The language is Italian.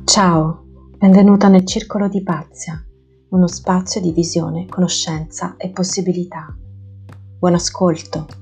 Ciao, benvenuta nel Circolo di Ipazia, uno spazio di visione, conoscenza e possibilità. Buon ascolto.